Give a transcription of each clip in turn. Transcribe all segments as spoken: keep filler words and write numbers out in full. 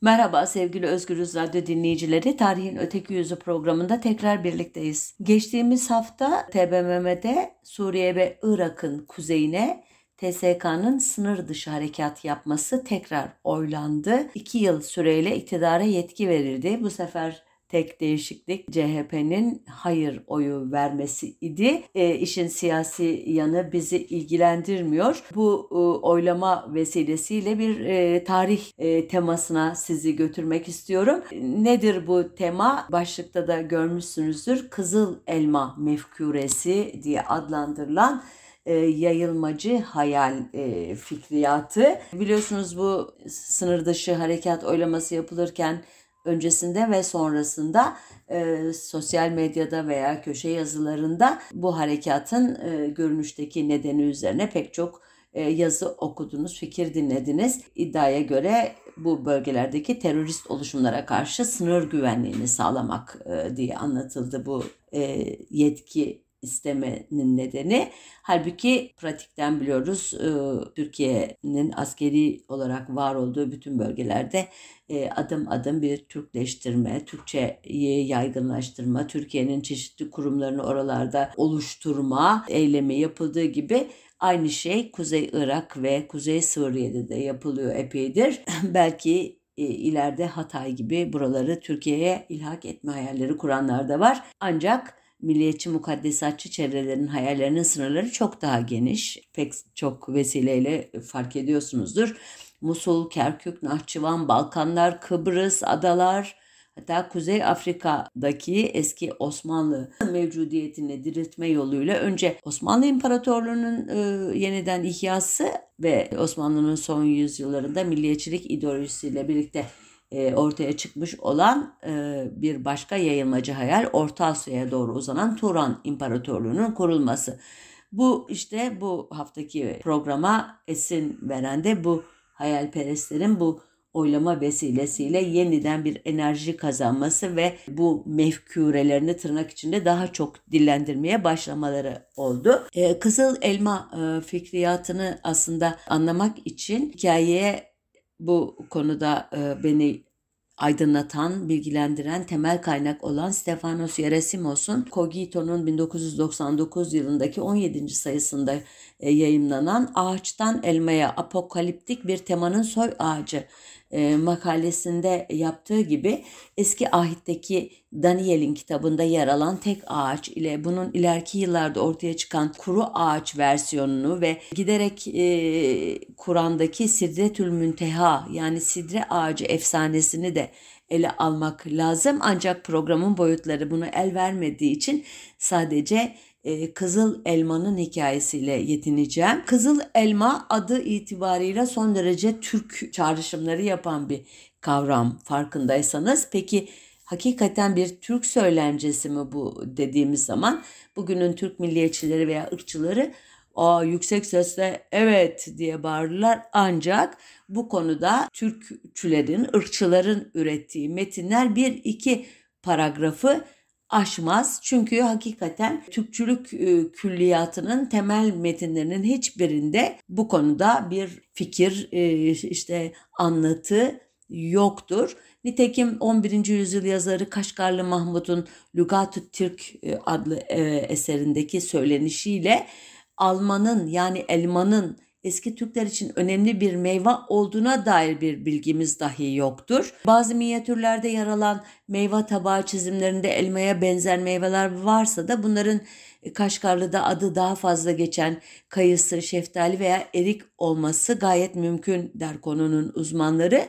Merhaba sevgili Özgürüz Radyo dinleyicileri. Tarihin Öteki Yüzü programında tekrar birlikteyiz. Geçtiğimiz hafta T B M M'de Suriye ve Irak'ın kuzeyine T S K'nın sınır dışı harekat yapması tekrar oylandı. İki yıl süreyle iktidara yetki verildi. Bu sefer tek değişiklik C H P'nin hayır oyu vermesi idi. E, işin siyasi yanı bizi ilgilendirmiyor. Bu e, oylama vesilesiyle bir e, tarih e, temasına sizi götürmek istiyorum. Nedir bu tema? Başlıkta da görmüşsünüzdür. Kızıl Elma Mefkuresi diye adlandırılan E, yayılmacı hayal e, fikriyatı. Biliyorsunuz bu sınır dışı harekat oylaması yapılırken öncesinde ve sonrasında e, sosyal medyada veya köşe yazılarında bu harekatın e, görünüşteki nedeni üzerine pek çok e, yazı okudunuz, fikir dinlediniz. İddiaya göre bu bölgelerdeki terörist oluşumlara karşı sınır güvenliğini sağlamak e, diye anlatıldı bu e, yetki istemenin nedeni. Halbuki pratikten biliyoruz e, Türkiye'nin askeri olarak var olduğu bütün bölgelerde e, adım adım bir Türkleştirme, Türkçeyi yaygınlaştırma, Türkiye'nin çeşitli kurumlarını oralarda oluşturma eylemi yapıldığı gibi aynı şey Kuzey Irak ve Kuzey Suriye'de de yapılıyor epeydir. Belki e, ileride Hatay gibi buraları Türkiye'ye ilhak etme hayalleri kuranlar da var. Ancak milliyetçi mukaddesatçı çevrelerin hayallerinin sınırları çok daha geniş. Pek çok vesileyle fark ediyorsunuzdur. Musul, Kerkük, Nahçıvan, Balkanlar, Kıbrıs, adalar, hatta Kuzey Afrika'daki eski Osmanlı mevcudiyetini diriltme yoluyla önce Osmanlı İmparatorluğu'nun e, yeniden ihyası ve Osmanlı'nın son yüzyıllarında milliyetçilik ideolojisiyle birlikte e, ortaya çıkmış olan e, bir başka yayılmacı hayal Orta Asya'ya doğru uzanan Turan İmparatorluğu'nun kurulması. Bu işte bu haftaki programa esin veren de bu hayalperestlerin bu oylama vesilesiyle yeniden bir enerji kazanması ve bu mefkurelerini tırnak içinde daha çok dillendirmeye başlamaları oldu. Ee, Kızıl Elma e, fikriyatını aslında anlamak için hikayeye bu konuda e, beni aydınlatan, bilgilendiren temel kaynak olan Stefanos Yerasimos'un Cogito'nun bin dokuz yüz doksan dokuz yılındaki on yedinci sayısında e, yayımlanan Ağaçtan Elmaya Apokaliptik Bir Temanın Soy Ağacı e, makalesinde yaptığı gibi eski ahitteki Daniel'in kitabında yer alan tek ağaç ile bunun ileriki yıllarda ortaya çıkan kuru ağaç versiyonunu ve giderek e, Kur'an'daki Sidretül Münteha yani sidre ağacı efsanesini de ele almak lazım. Ancak programın boyutları bunu el vermediği için sadece e, Kızıl Elma'nın hikayesiyle yetineceğim. Kızıl Elma adı itibarıyla son derece Türk çağrışımları yapan bir kavram farkındaysanız. Peki hakikaten bir Türk söylencesi mi bu dediğimiz zaman bugünün Türk milliyetçileri veya ırkçıları Aa, yüksek sesle evet diye bağırırlar, ancak bu konuda Türkçülerin, ırkçıların ürettiği metinler bir iki paragrafı aşmaz. Çünkü hakikaten Türkçülük e, külliyatının temel metinlerinin hiçbirinde bu konuda bir fikir, e, işte anlatı yoktur. Nitekim on birinci yüzyıl yazarı Kaşgarlı Mahmud'un Lügat-ı Türk adlı e, eserindeki söylenişiyle almanın yani elmanın eski Türkler için önemli bir meyve olduğuna dair bir bilgimiz dahi yoktur. Bazı minyatürlerde yer alan meyve tabağı çizimlerinde elmaya benzer meyveler varsa da bunların Kaşgarlı'da adı daha fazla geçen kayısı, şeftali veya erik olması gayet mümkün der konunun uzmanları.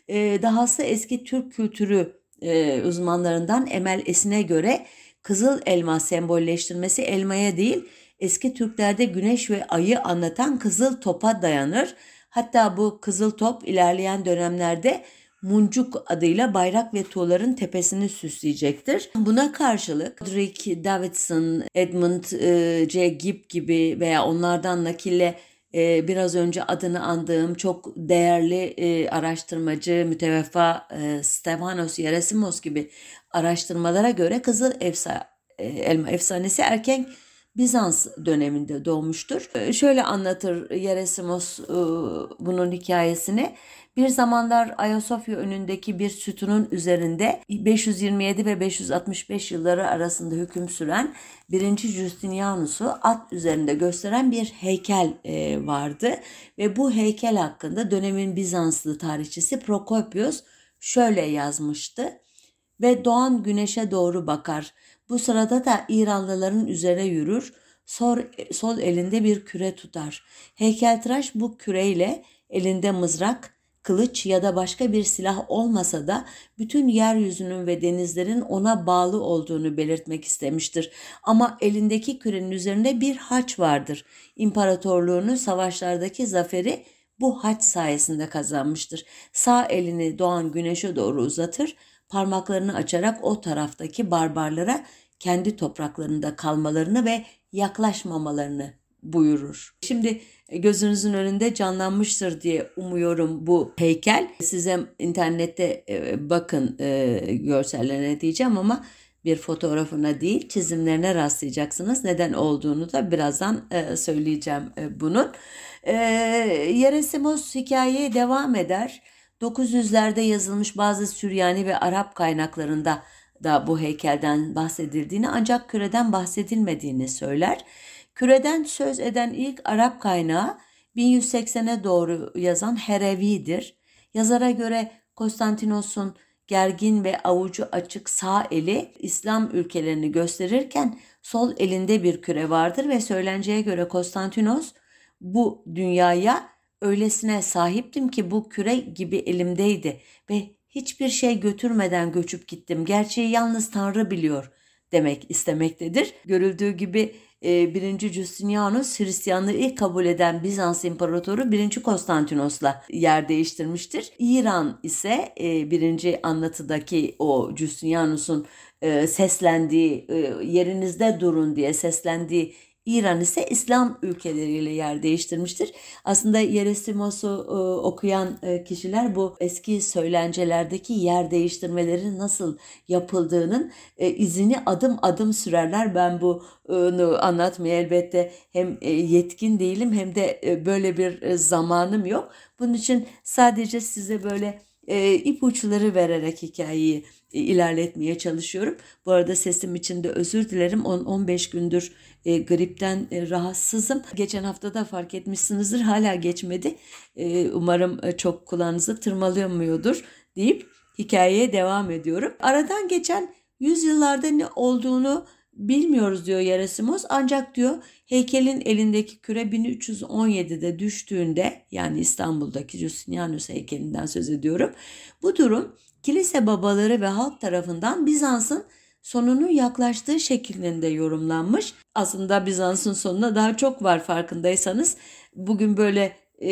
Dahası eski Türk kültürü uzmanlarından Emel Esin'e göre kızıl elma sembolleştirmesi elmaya değil, eski Türklerde güneş ve ayı anlatan kızıl topa dayanır. Hatta bu kızıl top ilerleyen dönemlerde muncuk adıyla bayrak ve tuğların tepesini süsleyecektir. Buna karşılık Roderick Davidson, Edmund C. Gibb gibi veya onlardan nakille Ee, biraz önce adını andığım çok değerli e, araştırmacı müteveffa e, Stefanos Yerasimos gibi araştırmalara göre Kızıl Efsa, e, Elma efsanesi erken Bizans döneminde doğmuştur. E, şöyle anlatır Yerasimos e, bunun hikayesini. Bir zamanlar Ayasofya önündeki bir sütunun üzerinde beş yüz yirmi yedi ve beş yüz altmış beş yılları arasında hüküm süren birinci. Justinianus'u at üzerinde gösteren bir heykel e, vardı. Ve bu heykel hakkında dönemin Bizanslı tarihçisi Prokopios şöyle yazmıştı. Ve doğan güneşe doğru bakar. Bu sırada da İranlıların üzerine yürür, sol, sol elinde bir küre tutar. Heykeltıraş bu küreyle elinde mızrak, kılıç ya da başka bir silah olmasa da bütün yeryüzünün ve denizlerin ona bağlı olduğunu belirtmek istemiştir. Ama elindeki kürenin üzerinde bir haç vardır. İmparatorluğunu savaşlardaki zaferi bu haç sayesinde kazanmıştır. Sağ elini doğan güneşe doğru uzatır, parmaklarını açarak o taraftaki barbarlara kendi topraklarında kalmalarını ve yaklaşmamalarını buyurur. Şimdi gözünüzün önünde canlanmıştır diye umuyorum bu heykel. Size internette bakın görsellerine diyeceğim ama bir fotoğrafına değil çizimlerine rastlayacaksınız. Neden olduğunu da birazdan söyleyeceğim bunun. Yerasimos hikayeye devam eder. dokuz yüzlerde yazılmış bazı Süryani ve Arap kaynaklarında da bu heykelden bahsedildiğini ancak küreden bahsedilmediğini söyler. Küreden söz eden ilk Arap kaynağı bin yüz seksene doğru yazan Herevi'dir. Yazara göre Konstantinos'un gergin ve avucu açık sağ eli İslam ülkelerini gösterirken sol elinde bir küre vardır ve söylenceye göre Konstantinos bu dünyaya öylesine sahiptim ki bu küre gibi elimdeydi ve hiçbir şey götürmeden göçüp gittim. Gerçeği yalnız Tanrı biliyor demek istemektedir. Görüldüğü gibi birinci. Justinianus Hristiyanlığı ilk kabul eden Bizans İmparatoru birinci. Konstantinos'la yer değiştirmiştir. İran ise birinci anlatıdaki o Justinianus'un seslendiği, yerinizde durun diye seslendiği İran ise İslam ülkeleriyle yer değiştirmiştir. Aslında Yerasimos'u e, okuyan e, kişiler bu eski söylencelerdeki yer değiştirmelerin nasıl yapıldığının e, izini adım adım sürerler. Ben bunu anlatmaya elbette hem e, yetkin değilim hem de e, böyle bir e, zamanım yok. Bunun için sadece size böyle e, ipuçları vererek hikayeyi e, ilerletmeye çalışıyorum. Bu arada sesim için de özür dilerim. on on beş gündür e, gripten e, rahatsızım. Geçen hafta da fark etmişsinizdir. Hala geçmedi. E, umarım e, çok kulağınızı tırmalıyormuyordur deyip hikayeye devam ediyorum. Aradan geçen yüzyıllarda ne olduğunu bilmiyoruz diyor Yerasimos. Ancak diyor heykelin elindeki küre bin üç yüz on yedide düştüğünde, yani İstanbul'daki Justinianus heykelinden söz ediyorum. Bu durum kilise babaları ve halk tarafından Bizans'ın sonunun yaklaştığı şeklinde yorumlanmış. Aslında Bizans'ın sonuna daha çok var farkındaysanız. Bugün böyle e,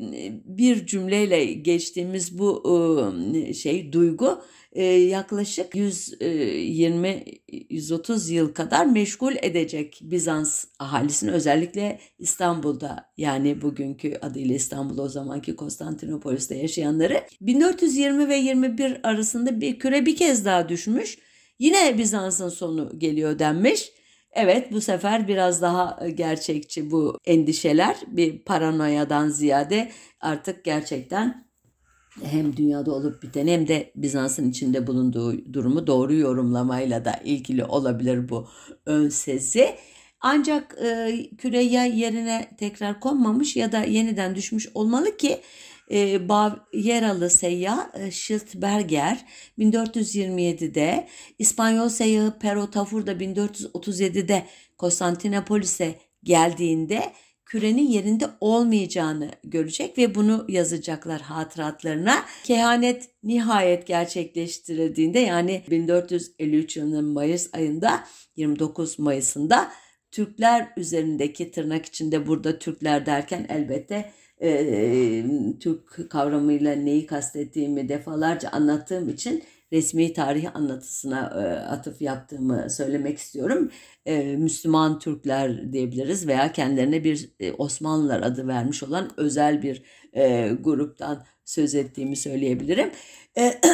bir cümleyle geçtiğimiz bu e, şey duygu e, yaklaşık yüz yirmi yüz otuz yıl kadar meşgul edecek Bizans ahalisini, özellikle İstanbul'da, yani bugünkü adıyla İstanbul, o zamanki Konstantinopolis'te yaşayanları. bin dört yüz yirmi ve yirmi bir arasında bir küre bir kez daha düşmüş. Yine Bizans'ın sonu geliyor denmiş. Evet, bu sefer biraz daha gerçekçi bu endişeler, bir paranoyadan ziyade artık gerçekten hem dünyada olup biten hem de Bizans'ın içinde bulunduğu durumu doğru yorumlamayla da ilgili olabilir bu ön sezi. Ancak e, küre ya yerine tekrar konmamış ya da yeniden düşmüş olmalı ki e, Bavyeralı seyyah e, Schildberger bin dört yüz yirmi yedide, İspanyol seyyahı Pero Tafur da bin dört yüz otuz yedide Konstantinopolis'e geldiğinde kürenin yerinde olmayacağını görecek ve bunu yazacaklar hatıratlarına. Kehanet nihayet gerçekleştirildiğinde, yani bin dört yüz elli üç yılının Mayıs ayında, yirmi dokuz Mayıs'ında Türkler üzerindeki, tırnak içinde burada Türkler derken elbette e, Türk kavramıyla neyi kastettiğimi defalarca anlattığım için resmi tarih anlatısına e, atıf yaptığımı söylemek istiyorum. E, Müslüman Türkler diyebiliriz veya kendilerine bir e, Osmanlılar adı vermiş olan özel bir e, gruptan söz ettiğimi söyleyebilirim. E,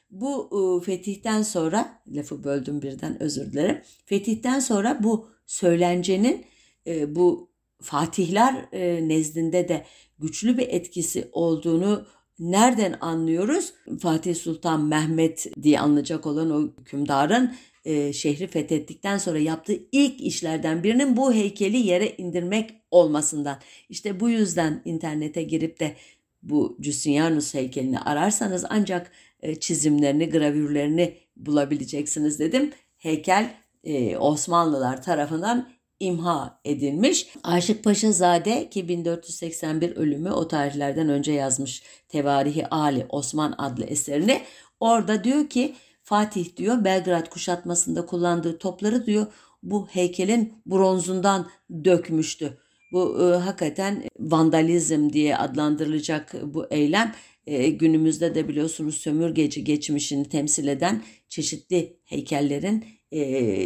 Bu e, fetihten sonra, lafı böldüm birden, özür dilerim. Fetihten sonra bu söylencenin e, bu fatihler e, nezdinde de güçlü bir etkisi olduğunu nereden anlıyoruz? Fatih Sultan Mehmet diye anılacak olan o hükümdarın e, şehri fethettikten sonra yaptığı ilk işlerden birinin bu heykeli yere indirmek olmasından. İşte bu yüzden internete girip de bu Justinianus heykelini ararsanız ancak e, çizimlerini, gravürlerini bulabileceksiniz dedim. Heykel e, Osmanlılar tarafından imha edilmiş. Aşık Paşazade ki bin dört yüz seksen bir ölümü, o tarihlerden önce yazmış Tevarihi Ali Osman adlı eserini. Orada diyor ki Fatih diyor Belgrad kuşatmasında kullandığı topları diyor bu heykelin bronzundan dökmüştü. Bu e, hakikaten vandalizm diye adlandırılacak bu eylem e, günümüzde de biliyorsunuz sömürgeci geçmişini temsil eden çeşitli heykellerin e,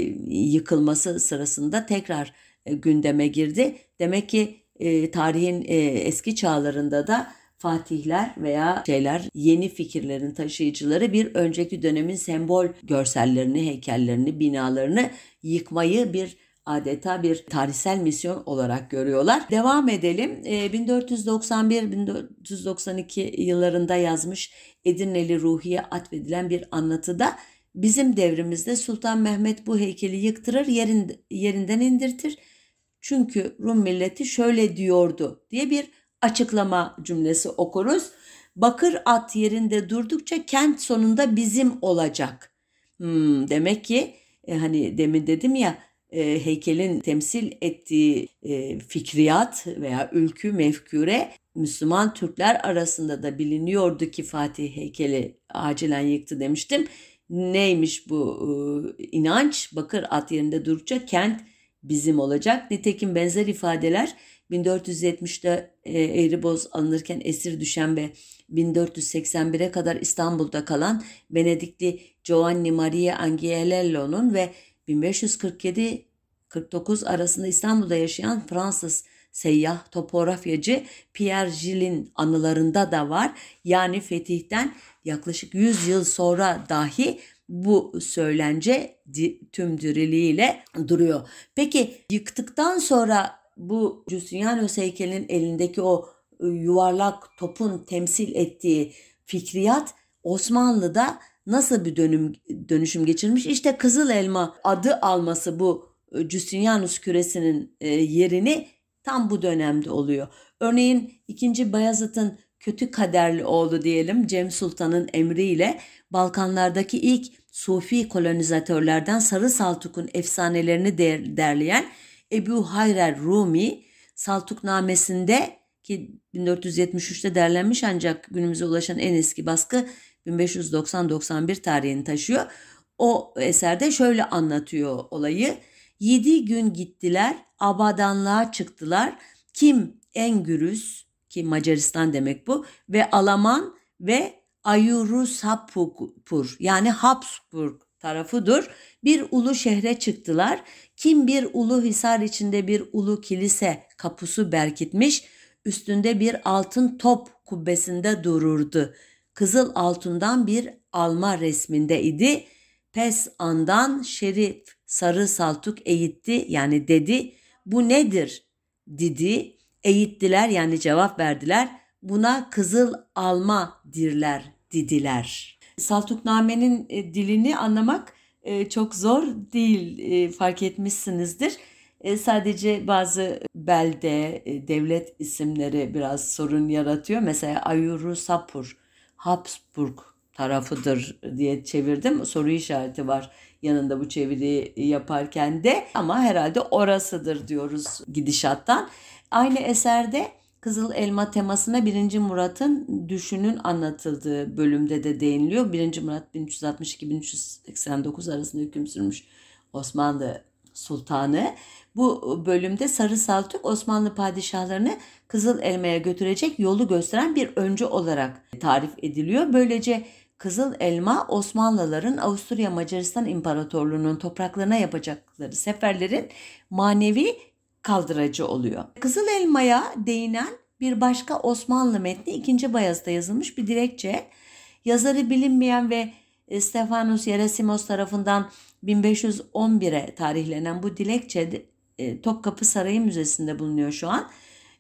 yıkılması sırasında tekrar e, gündeme girdi. Demek ki e, tarihin e, eski çağlarında da fatihler veya şeyler yeni fikirlerin taşıyıcıları bir önceki dönemin sembol görsellerini, heykellerini, binalarını yıkmayı bir adeta bir tarihsel misyon olarak görüyorlar. Devam edelim. bin dört yüz doksan bir bin dört yüz doksan iki yıllarında yazmış Edirneli Ruhi'ye atfedilen bir anlatıda bizim devrimizde Sultan Mehmet bu heykeli yıktırır, yerin, yerinden indirtir. Çünkü Rum milleti şöyle diyordu diye bir açıklama cümlesi okuruz. Bakır at yerinde durdukça kent sonunda bizim olacak. Hmm, demek ki e, hani demin dedim ya e, heykelin temsil ettiği e, fikriyat veya ülkü mefkure Müslüman Türkler arasında da biliniyordu ki Fatih heykeli acilen yıktı demiştim. Neymiş bu e, inanç? Bakır at yerinde durdukça kent bizim olacak. Nitekim benzer ifadeler bin dört yüz yetmişte e, Eğriboz alınırken esir düşen ve bin dört yüz seksen bire kadar İstanbul'da kalan Venedikli Giovanni Maria Angiolello'nun ve bin beş yüz kırk yedi kırk dokuz arasında İstanbul'da yaşayan Fransız seyyah topografyacı Pierre Gilles'in anılarında da var. Yani fetihten yaklaşık yüz yıl sonra dahi bu söylence tüm diriliğiyle duruyor. Peki yıktıktan sonra bu Justinianus heykelinin elindeki o yuvarlak topun temsil ettiği fikriyat Osmanlı'da nasıl bir dönüm, dönüşüm geçirmiş? İşte Kızıl Elma adı alması bu Justinianus küresinin yerini tam bu dönemde oluyor. Örneğin ikinci. Bayezid'in kötü kaderli oğlu diyelim Cem Sultan'ın emriyle Balkanlardaki ilk Sufi kolonizatörlerden Sarı Saltuk'un efsanelerini derleyen Ebu Hayrer Rumi Saltuknamesinde ki bin dört yüz yetmiş üçte derlenmiş ancak günümüze ulaşan en eski baskı bin beş yüz doksan doksan bir tarihini taşıyor. O eserde şöyle anlatıyor olayı. Yedi gün gittiler, abadanlığa çıktılar. Kim Engürüz ki Macaristan demek bu ve Alaman ve Ayurusapur yani Habsburg tarafıdır. Bir ulu şehre çıktılar. Kim bir ulu hisar içinde bir ulu kilise kapusu berkitmiş, üstünde bir altın top kubbesinde dururdu. Kızıl altından bir alma resminde idi. Pes andan Şerif Sarı Saltuk eğitti yani dedi. Bu nedir? Dedi. Eğittiler yani cevap verdiler. Buna kızıl alma dirler dediler. Saltukname'nin e, dilini anlamak e, çok zor değil, e, fark etmişsinizdir. E, sadece bazı belde, e, devlet isimleri biraz sorun yaratıyor. Mesela Ayurusapur, Habsburg tarafıdır diye çevirdim. Soru işareti var yanında bu çeviriyi yaparken de ama herhalde orasıdır diyoruz gidişattan. Aynı eserde Kızıl Elma temasına birinci. Murat'ın düşünün anlatıldığı bölümde de değiniliyor. birinci. Murat bin üç yüz altmış iki bin üç yüz seksen dokuz arasında hüküm sürmüş Osmanlı Sultanı. Bu bölümde Sarı Saltuk Osmanlı padişahlarını Kızıl Elma'ya götürecek yolu gösteren bir öncü olarak tarif ediliyor. Böylece Kızıl Elma Osmanlıların Avusturya Macaristan İmparatorluğu'nun topraklarına yapacakları seferlerin manevi kaldıracı oluyor. Kızıl Elma'ya değinen bir başka Osmanlı metni ikinci. Bayezid'de yazılmış bir dilekçe. Yazarı bilinmeyen ve Stefanos Yerasimos tarafından bin beş yüz on bire tarihlenen bu dilekçe e, Topkapı Sarayı Müzesi'nde bulunuyor şu an.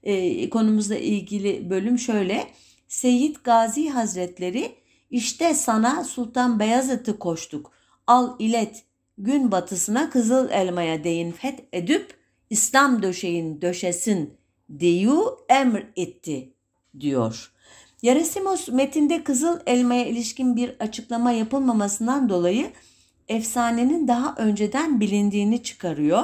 E, konumuzla ilgili bölüm şöyle. Seyyid Gazi Hazretleri, işte sana Sultan Beyazıt'ı koştuk. Al ilet gün batısına kızıl elmaya değin feth edip İslam döşeğin döşesin diyu emr etti diyor. Yerasimos metinde kızıl elmaya ilişkin bir açıklama yapılmamasından dolayı efsanenin daha önceden bilindiğini çıkarıyor.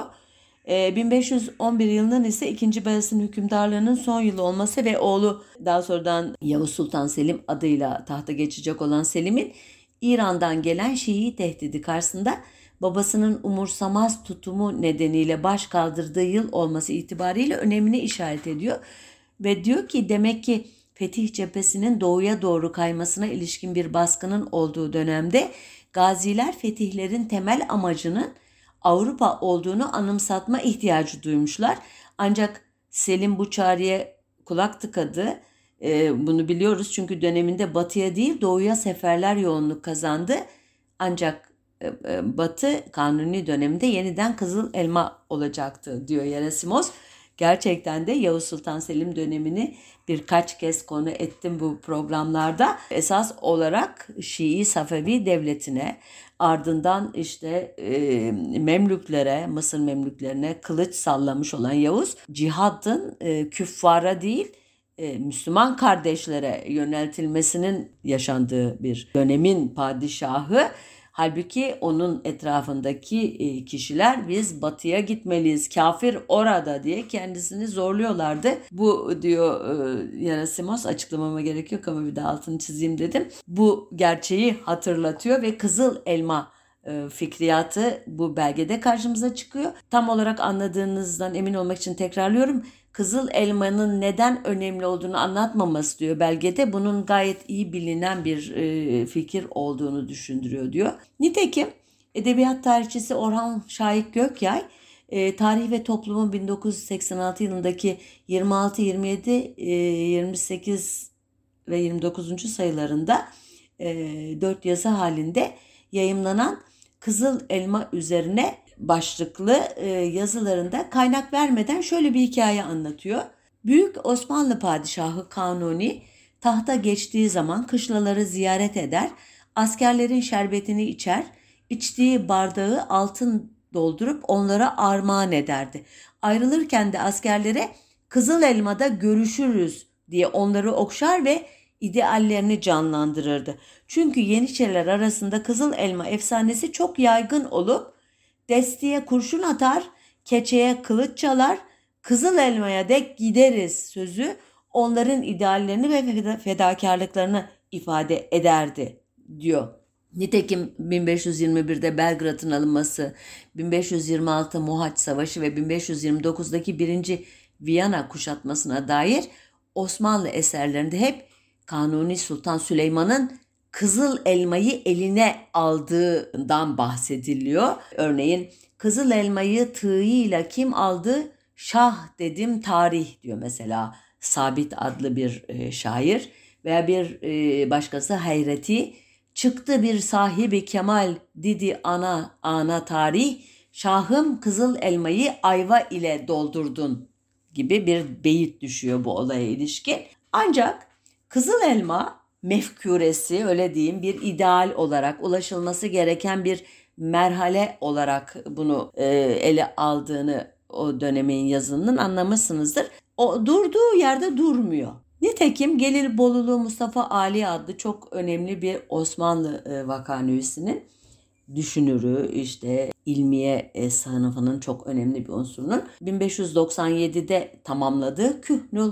bin beş yüz on bir yılının ise ikinci. Beyazıt'ın hükümdarlığının son yılı olması ve oğlu daha sonradan Yavuz Sultan Selim adıyla tahta geçecek olan Selim'in İran'dan gelen Şii tehdidi karşısında babasının umursamaz tutumu nedeniyle baş kaldırdığı yıl olması itibariyle önemini işaret ediyor. Ve diyor ki demek ki fetih cephesinin doğuya doğru kaymasına ilişkin bir baskının olduğu dönemde gaziler fetihlerin temel amacının Avrupa olduğunu anımsatma ihtiyacı duymuşlar. Ancak Selim bu çağrıya kulak tıkadı. Ee, bunu biliyoruz çünkü döneminde batıya değil doğuya seferler yoğunluk kazandı. Ancak e, e, Batı Kanuni döneminde yeniden kızıl elma olacaktı diyor Yerasimos. Gerçekten de Yavuz Sultan Selim dönemini birkaç kez konu ettim bu programlarda. Esas olarak Şii Safevi devletine, ardından işte e, Memlüklere, Mısır Memlüklerine kılıç sallamış olan Yavuz, cihadın e, küffara değil e, Müslüman kardeşlere yöneltilmesinin yaşandığı bir dönemin padişahı. Halbuki onun etrafındaki kişiler biz batıya gitmeliyiz, kafir orada diye kendisini zorluyorlardı. Bu diyor Yerasimos, açıklamama gerek yok ama bir de altını çizeyim dedim. Bu gerçeği hatırlatıyor ve kızıl elma fikriyatı bu belgede karşımıza çıkıyor. Tam olarak anladığınızdan emin olmak için tekrarlıyorum. Kızıl elmanın neden önemli olduğunu anlatmaması diyor belgede. Bunun gayet iyi bilinen bir e, fikir olduğunu düşündürüyor diyor. Nitekim edebiyat tarihçisi Orhan Şahik Gökyay e, Tarih ve Toplumun bin dokuz yüz seksen altı yılındaki yirmi altı, yirmi yedi, e, yirmi sekiz ve yirmi dokuzuncu sayılarında e, dört yazı halinde yayımlanan Kızıl Elma üzerine başlıklı e, yazılarında kaynak vermeden şöyle bir hikaye anlatıyor. Büyük Osmanlı padişahı Kanuni tahta geçtiği zaman kışlaları ziyaret eder, askerlerin şerbetini içer, içtiği bardağı altın doldurup onlara armağan ederdi. Ayrılırken de askerlere Kızıl Elma'da görüşürüz diye onları okşar ve ideallerini canlandırırdı. Çünkü Yeniçeriler arasında Kızıl Elma efsanesi çok yaygın olup destiye kurşun atar, keçeye kılıç çalar, Kızıl Elma'ya dek gideriz sözü onların ideallerini ve fedakarlıklarını ifade ederdi diyor. Nitekim bin beş yüz yirmi birde Belgrad'ın alınması, bin beş yüz yirmi altı Mohaç Savaşı ve bin beş yüz yirmi dokuzdaki birinci Viyana kuşatmasına dair Osmanlı eserlerinde hep Kanuni Sultan Süleyman'ın Kızıl Elmayı eline aldığından bahsediliyor. Örneğin Kızıl Elmayı tığıyla kim aldı? Şah dedim tarih diyor mesela Sabit adlı bir e, şair veya bir e, başkası Hayreti. Çıktı bir sahibi kemal didi ana ana tarih, şahım Kızıl Elmayı ayva ile doldurdun gibi bir beyit düşüyor bu olaya ilişkin. Ancak Kızıl Elma mefküresi, öyle diyeyim, bir ideal olarak ulaşılması gereken bir merhale olarak bunu e, ele aldığını o dönemin yazınının anlamışsınızdır. O durduğu yerde durmuyor. Nitekim Gelibolu Mustafa Ali adlı çok önemli bir Osmanlı e, vakanüvisinin düşünürü, işte ilmiye e, sınıfının çok önemli bir unsurunun bin beş yüz doksan yedide tamamladığı Kühnül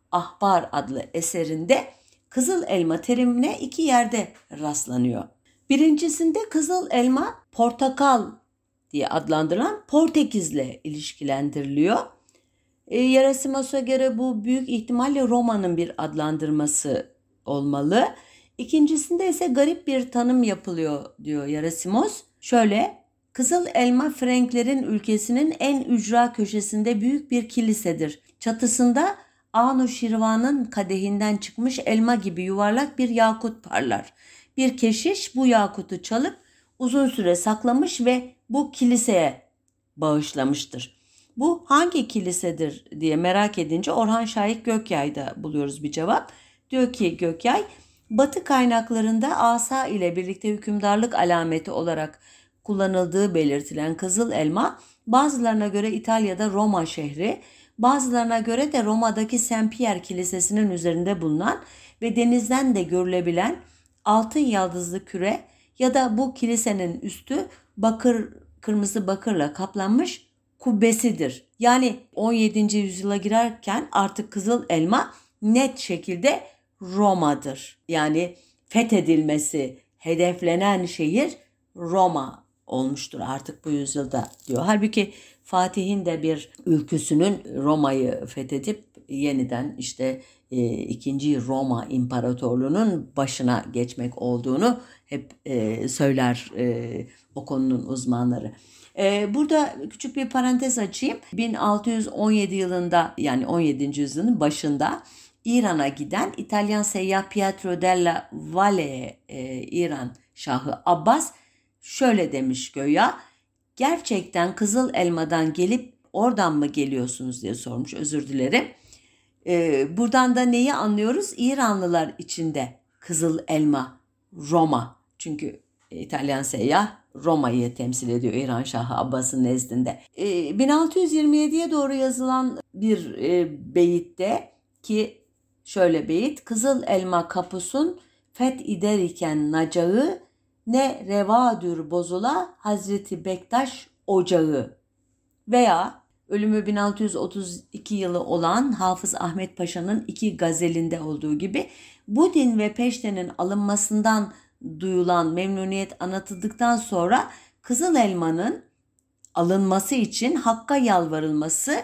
Ahbar adlı eserinde Kızıl Elma terimine iki yerde rastlanıyor. Birincisinde Kızıl Elma portakal diye adlandırılan Portekiz'le ilişkilendiriliyor. E, Yerasimos'a göre bu büyük ihtimalle Roma'nın bir adlandırması olmalı. İkincisinde ise garip bir tanım yapılıyor diyor Yerasimos. Şöyle, Kızıl Elma Frenklerin ülkesinin en ücra köşesinde büyük bir kilisedir. Çatısında Anu Şirvan'ın kadehinden çıkmış elma gibi yuvarlak bir yakut parlar. bir keşiş bu yakutu çalıp uzun süre saklamış ve bu kiliseye bağışlamıştır. Bu hangi kilisedir diye merak edince Orhan Şahik Gökyay'da buluyoruz bir cevap. Diyor ki Gökyay, Batı kaynaklarında asa ile birlikte hükümdarlık alameti olarak kullanıldığı belirtilen kızıl elma, bazılarına göre İtalya'da Roma şehri, bazılarına göre de Roma'daki Saint Pierre Kilisesi'nin üzerinde bulunan ve denizden de görülebilen altın yaldızlı küre ya da bu kilisenin üstü bakır, kırmızı bakırla kaplanmış kubbesidir. Yani on yedinci yüzyıla girerken artık kızıl elma net şekilde Roma'dır. Yani fethedilmesi hedeflenen şehir Roma olmuştur artık bu yüzyılda diyor. Halbuki Fatih'in de bir ülküsünün Roma'yı fethedip yeniden işte e, ikinci Roma İmparatorluğu'nun başına geçmek olduğunu hep e, söyler e, o konunun uzmanları. E, burada küçük bir parantez açayım. bin altı yüz on yedi yılında yani on yedinci yüzyılın başında İran'a giden İtalyan seyyah Pietro della Valle'ye e, İran Şahı Abbas şöyle demiş göya, gerçekten Kızıl Elma'dan gelip oradan mı geliyorsunuz diye sormuş, özür dilerim. Ee, buradan da neyi anlıyoruz? İranlılar içinde Kızıl Elma Roma, çünkü İtalyan seyyah Roma'yı temsil ediyor İran Şahı Abbas'ın nezdinde. Ee, bin altı yüz yirmi yediye doğru yazılan bir e, beyitte ki şöyle beyit, Kızıl Elma kapusun feth eder iken nacağı, ne revadür bozula Hazreti Bektaş ocağı. Veya ölümü bin altı yüz otuz iki yılı olan Hafız Ahmet Paşa'nın iki gazelinde olduğu gibi bu din ve peştenin alınmasından duyulan memnuniyet anlatıldıktan sonra Kızıl Elma'nın alınması için Hakk'a yalvarılması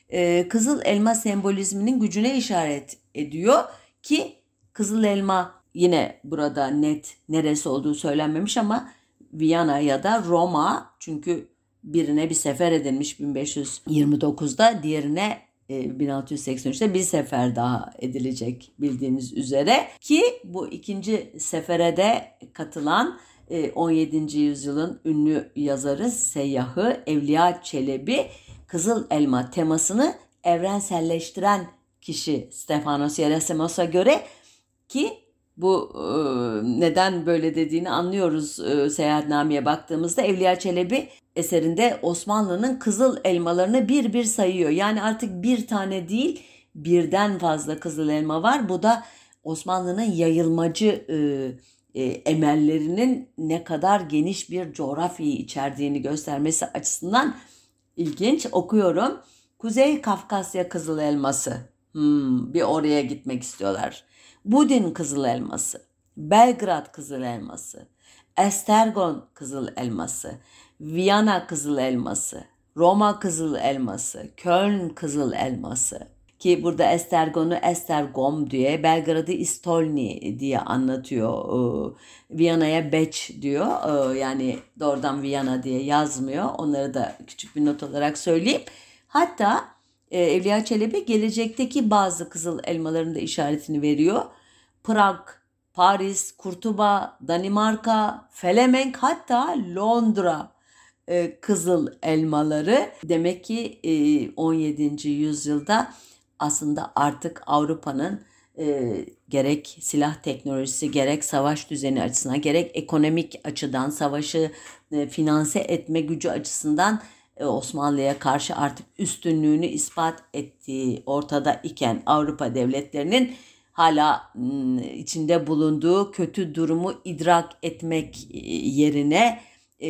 e, Kızıl Elma sembolizminin gücüne işaret ediyor ki Kızıl Elma yine burada net neresi olduğu söylenmemiş ama Viyana ya da Roma, çünkü birine bir sefer edilmiş bin beş yüz yirmi dokuzda, diğerine e, bin altı yüz seksen üçte bir sefer daha edilecek bildiğiniz üzere ki bu ikinci sefere de katılan e, on yedinci yüzyılın ünlü yazarı seyyahı Evliya Çelebi Kızıl Elma temasını evrenselleştiren kişi Stefanos Gerasimos'a göre ki bu e, neden böyle dediğini anlıyoruz e, seyahatnameye baktığımızda. Evliya Çelebi eserinde Osmanlı'nın kızıl elmalarını bir bir sayıyor. Yani artık bir tane değil birden fazla kızıl elma var. Bu da Osmanlı'nın yayılmacı e, e, emellerinin ne kadar geniş bir coğrafyayı içerdiğini göstermesi açısından ilginç. Okuyorum. Kuzey Kafkasya kızıl elması. Hmm, bir oraya gitmek istiyorlar. Budin kızıl elması, Belgrad kızıl elması, Estergon kızıl elması, Viyana kızıl elması, Roma kızıl elması, Köln kızıl elması ki burada Estergon'u Estergom diye, Belgrad'ı İstolni diye anlatıyor. Viyana'ya Beç diyor. Yani doğrudan Viyana diye yazmıyor. Onları da küçük bir not olarak söyleyeyim. Hatta Evliya Çelebi gelecekteki bazı kızıl elmaların da işaretini veriyor. Prag, Paris, Kurtuba, Danimarka, Felemenk, hatta Londra e, kızıl elmaları. Demek ki e, on yedinci yüzyılda aslında artık Avrupa'nın e, gerek silah teknolojisi, gerek savaş düzeni açısından, gerek ekonomik açıdan savaşı e, finanse etme gücü açısından Osmanlı'ya karşı artık üstünlüğünü ispat ettiği ortada iken Avrupa devletlerinin hala içinde bulunduğu kötü durumu idrak etmek yerine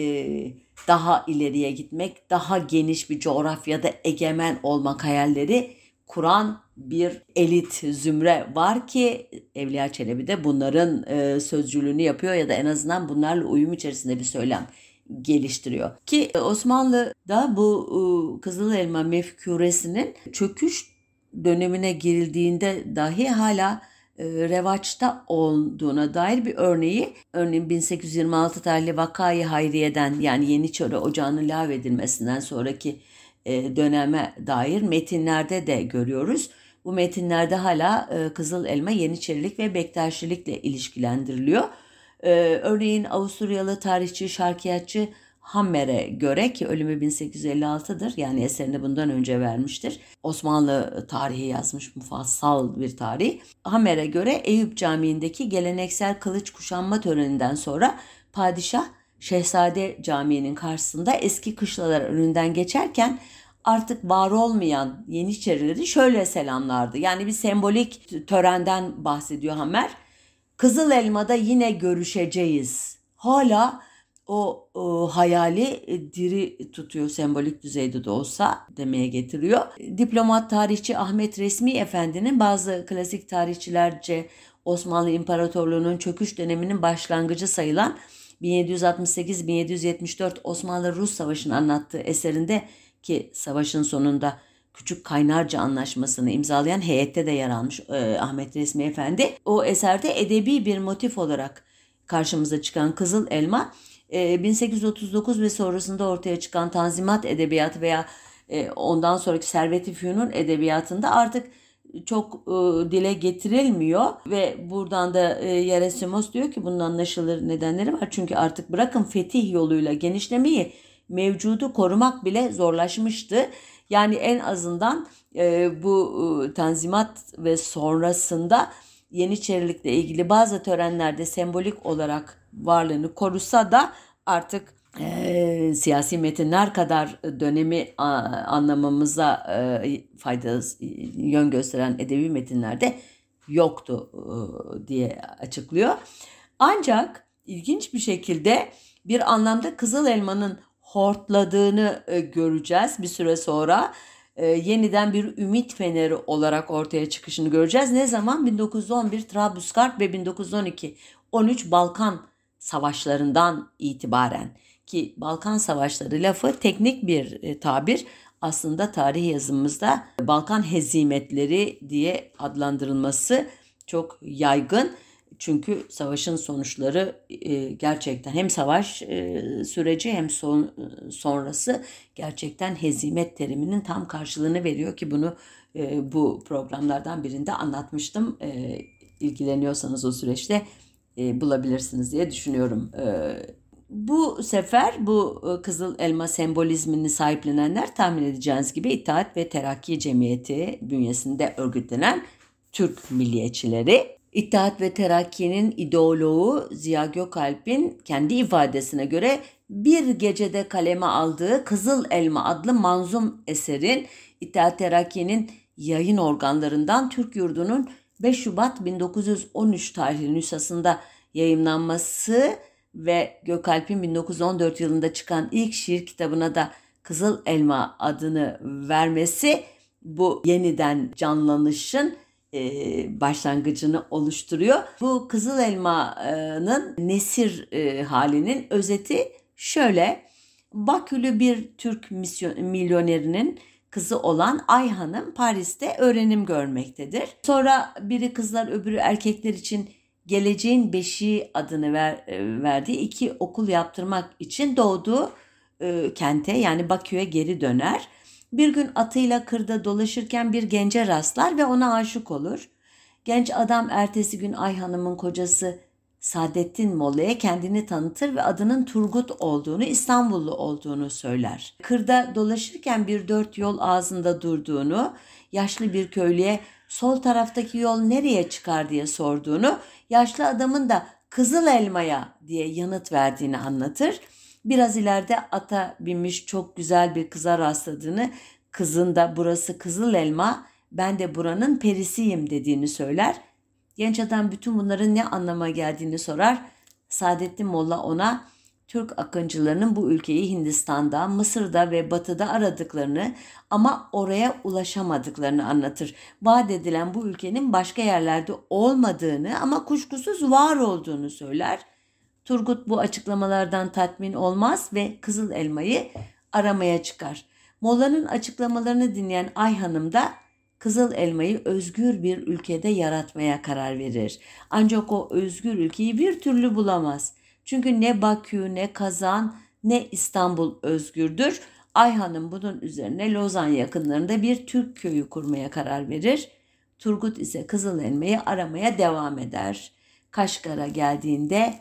daha ileriye gitmek, daha geniş bir coğrafyada egemen olmak hayalleri kuran bir elit zümre var ki Evliya Çelebi de bunların sözcülüğünü yapıyor ya da en azından bunlarla uyum içerisinde bir söylem geliştiriyor. Ki Osmanlı'da bu Kızıl Elma mefkuresinin çöküş dönemine girildiğinde dahi hala revaçta olduğuna dair bir örneği, örneğin bin sekiz yüz yirmi altı tarihli Vakayı Hayriye'den, yani Yeniçeri Ocağı'nın lağvedilmesinden sonraki döneme dair metinlerde de görüyoruz. Bu metinlerde hala Kızıl Elma Yeniçerilik ve Bektaşilikle ilişkilendiriliyor. Ee, örneğin Avusturyalı tarihçi, şarkiyatçı Hammer'e göre, ki ölümü bin sekiz yüz elli altıdır, yani eserini bundan önce vermiştir. Osmanlı tarihi yazmış, mufassal bir tarih. Hammer'e göre Eyüp Camii'ndeki geleneksel kılıç kuşanma töreninden sonra padişah Şehzade Camii'nin karşısında eski kışlalar önünden geçerken artık var olmayan Yeniçerileri şöyle selamlardı. Yani bir sembolik törenden bahsediyor Hammer. Kızıl Elma'da yine görüşeceğiz. Hala o, o hayali e, diri tutuyor, sembolik düzeyde de olsa demeye getiriyor. Diplomat tarihçi Ahmet Resmi Efendi'nin bazı klasik tarihçilerce Osmanlı İmparatorluğu'nun çöküş döneminin başlangıcı sayılan bin yedi yüz altmış sekiz bin yedi yüz yetmiş dört Osmanlı-Rus Savaşı'nı anlattığı eserinde, ki savaşın sonunda Küçük Kaynarca Anlaşması'nı imzalayan heyette de yer almış e, Ahmet Resmi Efendi. O eserde edebi bir motif olarak karşımıza çıkan Kızıl Elma, e, bin sekiz yüz otuz dokuz ve sonrasında ortaya çıkan Tanzimat Edebiyatı veya e, ondan sonraki Servet-i Fünun Edebiyatı'nda artık çok e, dile getirilmiyor ve buradan da e, Yerasimos diyor ki bunun anlaşılır nedenleri var. Çünkü artık bırakın fetih yoluyla genişlemeyi, mevcudu korumak bile zorlaşmıştı. Yani en azından e, bu e, Tanzimat ve sonrasında Yeniçerilikle ilgili bazı törenlerde sembolik olarak varlığını korusa da artık e, siyasi metinler kadar dönemi a, anlamamıza e, fayda yön gösteren edebi metinlerde yoktu e, diye açıklıyor. Ancak ilginç bir şekilde bir anlamda Kızıl Elma'nın hortladığını e, göreceğiz bir süre sonra. E, yeniden bir ümit feneri olarak ortaya çıkışını göreceğiz. Ne zaman? bin dokuz yüz on bir Trablusgarp ve bin dokuz yüz on iki on üç Balkan Savaşlarından itibaren, ki Balkan Savaşları lafı teknik bir e, tabir. Aslında tarih yazımımızda Balkan hezimetleri diye adlandırılması çok yaygın. Çünkü savaşın sonuçları e, gerçekten hem savaş e, süreci hem son, sonrası gerçekten hezimet teriminin tam karşılığını veriyor, ki bunu e, bu programlardan birinde anlatmıştım. E, ilgileniyorsanız o süreçte e, bulabilirsiniz diye düşünüyorum. E, bu sefer bu e, Kızıl Elma sembolizmini sahiplenenler, tahmin edeceğiniz gibi İttihat ve Terakki Cemiyeti bünyesinde örgütlenen Türk milliyetçileri. İttihat ve Terakki'nin ideoloğu Ziya Gökalp'in kendi ifadesine göre bir gecede kaleme aldığı Kızıl Elma adlı manzum eserin İttihat Terakki'nin yayın organlarından Türk Yurdu'nun beş Şubat bin dokuz yüz on üç tarihli nüshasında yayımlanması ve Gökalp'in bin dokuz yüz on dört yılında çıkan ilk şiir kitabına da Kızıl Elma adını vermesi bu yeniden canlanışın başlangıcını oluşturuyor. Bu Kızıl Elma'nın nesir halinin özeti şöyle: Bakülü bir Türk misyon, milyonerinin kızı olan Ay Hanım Paris'te öğrenim görmektedir. Sonra biri kızlar öbürü erkekler için Geleceğin Beşiği adını ver, verdiği iki okul yaptırmak için doğduğu e, kente, yani Bakü'ye geri döner. Bir gün atıyla kırda dolaşırken bir gence rastlar ve ona aşık olur. Genç adam ertesi gün Ay Hanım'ın kocası Saadettin Molla'ya kendini tanıtır ve adının Turgut olduğunu, İstanbullu olduğunu söyler. Kırda dolaşırken bir dört yol ağzında durduğunu, yaşlı bir köylüye sol taraftaki yol nereye çıkar diye sorduğunu, yaşlı adamın da Kızıl Elma'ya diye yanıt verdiğini anlatır. Biraz ileride ata binmiş çok güzel bir kıza rastladığını, kızın da burası Kızıl Elma, ben de buranın perisiyim dediğini söyler. Genç adam bütün bunların ne anlama geldiğini sorar. Saadettin Molla ona Türk akıncılarının bu ülkeyi Hindistan'da, Mısır'da ve Batı'da aradıklarını ama oraya ulaşamadıklarını anlatır. Vaat edilen bu ülkenin başka yerlerde olmadığını ama kuşkusuz var olduğunu söyler. Turgut bu açıklamalardan tatmin olmaz ve Kızıl Elma'yı aramaya çıkar. Molla'nın açıklamalarını dinleyen Ay Hanım da Kızıl Elma'yı özgür bir ülkede yaratmaya karar verir. Ancak o özgür ülkeyi bir türlü bulamaz. Çünkü ne Bakü, ne Kazan, ne İstanbul özgürdür. Ay Hanım bunun üzerine Lozan yakınlarında bir Türk köyü kurmaya karar verir. Turgut ise Kızıl Elma'yı aramaya devam eder. Kaşgar'a geldiğinde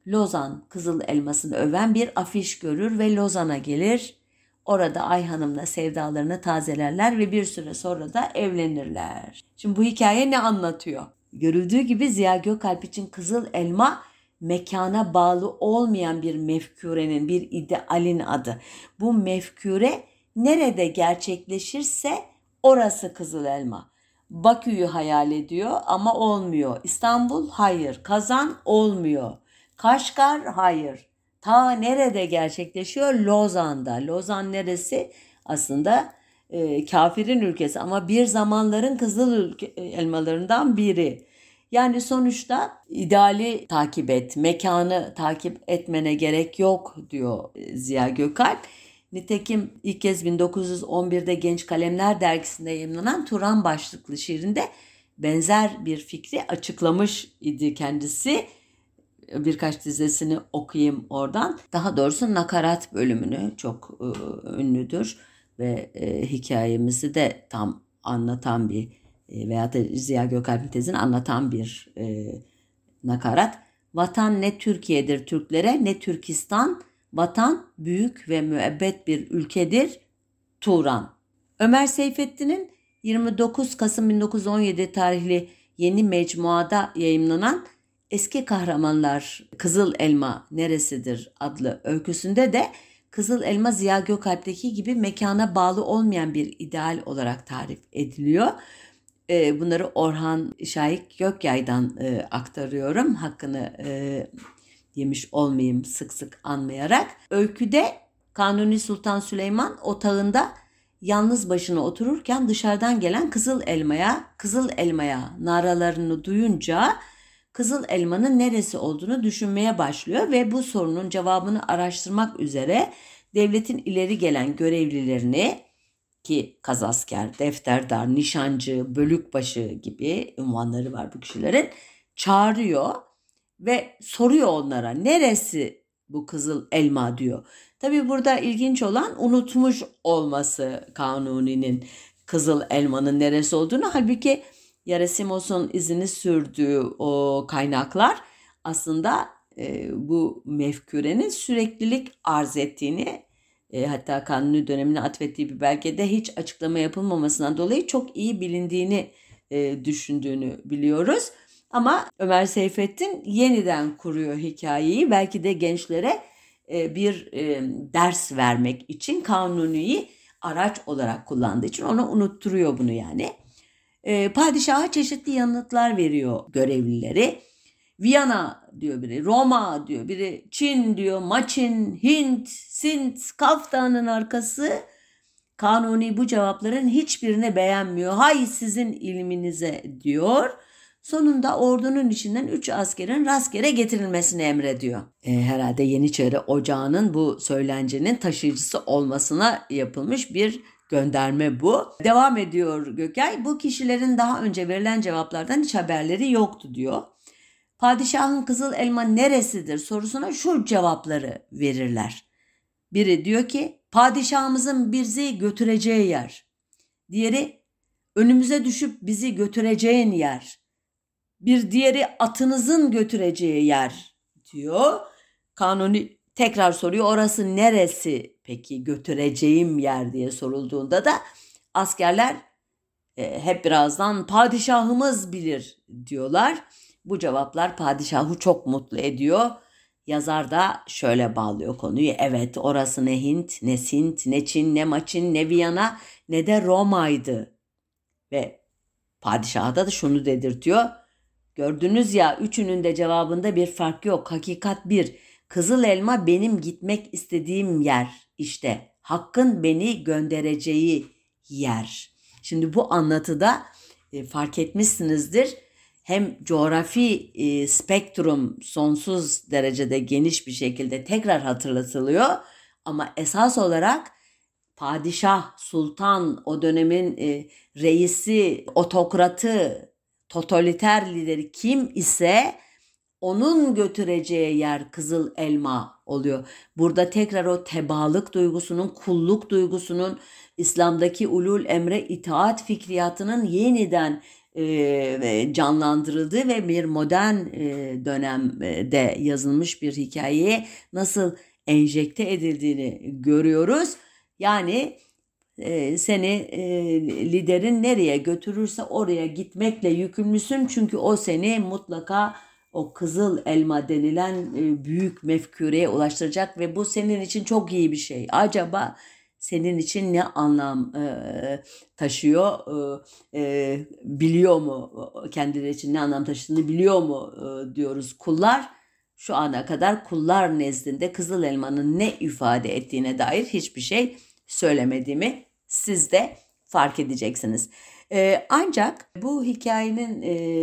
Lozan kızıl elmasını öven bir afiş görür ve Lozan'a gelir. Orada Ayhan'ımla sevdalarını tazelerler ve bir süre sonra da evlenirler. Şimdi bu hikaye ne anlatıyor? Görüldüğü gibi Ziya Gökalp için kızıl elma mekana bağlı olmayan bir mefkurenin, bir idealin adı. Bu mefkure nerede gerçekleşirse orası kızıl elma. Bakü'yü hayal ediyor ama olmuyor. İstanbul hayır. Kazan olmuyor. Kaşgar hayır. Ta nerede gerçekleşiyor? Lozan'da. Lozan neresi? Aslında e, kafirin ülkesi ama bir zamanların kızıl ülke, elmalarından biri. Yani sonuçta ideali takip et, mekanı takip etmene gerek yok diyor Ziya Gökalp. Nitekim ilk kez bin dokuz yüz on birde Genç Kalemler dergisinde yayımlanan Turan başlıklı şiirinde benzer bir fikri açıklamış idi kendisi. Birkaç dizesini okuyayım oradan. Daha doğrusu nakarat bölümünü çok e, ünlüdür ve e, hikayemizi de tam anlatan bir e, veya da Ziya Gökalp'in tezini anlatan bir e, nakarat. Vatan ne Türkiye'dir Türklere ne Türkistan, vatan büyük ve müebbet bir ülkedir Turan. Ömer Seyfettin'in yirmi dokuz Kasım bin dokuz yüz on yedi tarihli Yeni Mecmuada yayımlanan Eski Kahramanlar Kızıl Elma Neresidir adlı öyküsünde de Kızıl Elma Ziya Gökalp'teki gibi mekana bağlı olmayan bir ideal olarak tarif ediliyor. Bunları Orhan Şahik Gökyay'dan aktarıyorum. Hakkını yemiş olmayayım sık sık anmayarak. Öyküde Kanuni Sultan Süleyman otağında yalnız başına otururken dışarıdan gelen kızıl elmaya, kızıl elmaya naralarını duyunca kızıl elmanın neresi olduğunu düşünmeye başlıyor ve bu sorunun cevabını araştırmak üzere devletin ileri gelen görevlilerini, ki kazasker, defterdar, nişancı, bölükbaşı gibi unvanları var bu kişilerin, çağırıyor ve soruyor onlara neresi bu kızıl elma diyor. Tabii burada ilginç olan unutmuş olması Kanuni'nin kızıl elmanın neresi olduğunu. Halbuki Yerasimos'un izini sürdüğü o kaynaklar aslında e, bu mefkurenin süreklilik arz ettiğini, e, hatta Kanuni dönemine atfettiği bir belgede hiç açıklama yapılmamasından dolayı çok iyi bilindiğini e, düşündüğünü biliyoruz. Ama Ömer Seyfettin yeniden kuruyor hikayeyi. Belki de gençlere e, bir e, ders vermek için Kanuni'yi araç olarak kullandığı için ona unutturuyor bunu yani. E, padişaha çeşitli yanıtlar veriyor görevlileri. Viyana diyor biri, Roma diyor biri, Çin diyor, Maçin, Hint, Sint, Kaftan'ın arkası. Kanuni bu cevapların hiçbirini beğenmiyor. Hay sizin ilminize diyor. Sonunda ordunun içinden üç askerin rastgele getirilmesini emrediyor. E, herhalde Yeniçeri Ocağı'nın bu söylencenin taşıyıcısı olmasına yapılmış bir gönderme bu. Devam ediyor Gökay. Bu kişilerin daha önce verilen cevaplardan hiç haberleri yoktu diyor. Padişahın kızıl elma neresidir sorusuna şu cevapları verirler. Biri diyor ki padişahımızın bizi götüreceği yer. Diğeri önümüze düşüp bizi götüreceğin yer. Bir diğeri atınızın götüreceği yer diyor. Kanuni tekrar soruyor orası neresi peki götüreceğim yer diye sorulduğunda da askerler e, hep birazdan padişahımız bilir diyorlar. Bu cevaplar padişahı çok mutlu ediyor. Yazar da şöyle bağlıyor konuyu. Evet orası ne Hint, ne Sint, ne Çin, ne Maçin, ne Viyana, ne de Roma'ydı. Ve padişaha da şunu dedirtiyor. Gördünüz ya üçünün de cevabında bir fark yok. Hakikat bir. Kızıl elma benim gitmek istediğim yer. İşte Hakk'ın beni göndereceği yer. Şimdi bu anlatıda e, fark etmişsinizdir. Hem coğrafi e, spektrum sonsuz derecede geniş bir şekilde tekrar hatırlatılıyor. Ama esas olarak padişah, sultan, o dönemin e, reisi, otokratı, totaliter lideri kim ise onun götüreceği yer kızıl elma oluyor. Burada tekrar o tebaalık duygusunun, kulluk duygusunun, İslam'daki ulul emre itaat fikriyatının yeniden e, canlandırıldığı ve bir modern e, dönemde yazılmış bir hikayeye nasıl enjekte edildiğini görüyoruz. Yani e, seni e, liderin nereye götürürse oraya gitmekle yükümlüsün. Çünkü o seni mutlaka o kızıl elma denilen e, büyük mefküreye ulaştıracak ve bu senin için çok iyi bir şey. Acaba senin için ne anlam e, taşıyor, e, e, biliyor mu? Kendileri için ne anlam taşıdığını biliyor mu e, diyoruz kullar. Şu ana kadar kullar nezdinde kızıl elmanın ne ifade ettiğine dair hiçbir şey söylemediğimi siz de fark edeceksiniz. Ee, ancak bu hikayenin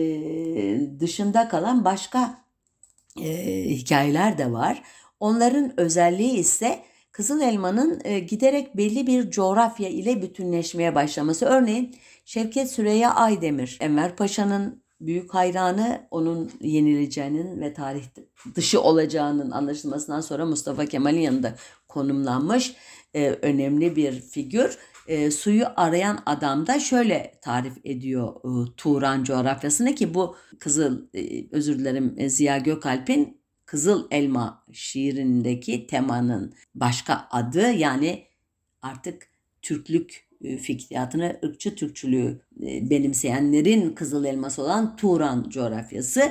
e, dışında kalan başka e, hikayeler de var. Onların özelliği ise kızıl elmanın e, giderek belli bir coğrafya ile bütünleşmeye başlaması. Örneğin Şevket Süreyya Aydemir, Enver Paşa'nın büyük hayranı, onun yenileceğinin ve tarih dışı olacağının anlaşılmasından sonra Mustafa Kemal'in yanında konumlanmış e, önemli bir figür. E, suyu arayan adam da şöyle tarif ediyor e, Turan coğrafyasını ki bu Kızıl, e, özür dilerim e, Ziya Gökalp'in Kızıl Elma şiirindeki temanın başka adı, yani artık Türklük e, fikriyatını, ırkçı Türkçülüğü e, benimseyenlerin Kızıl Elması olan Turan coğrafyası.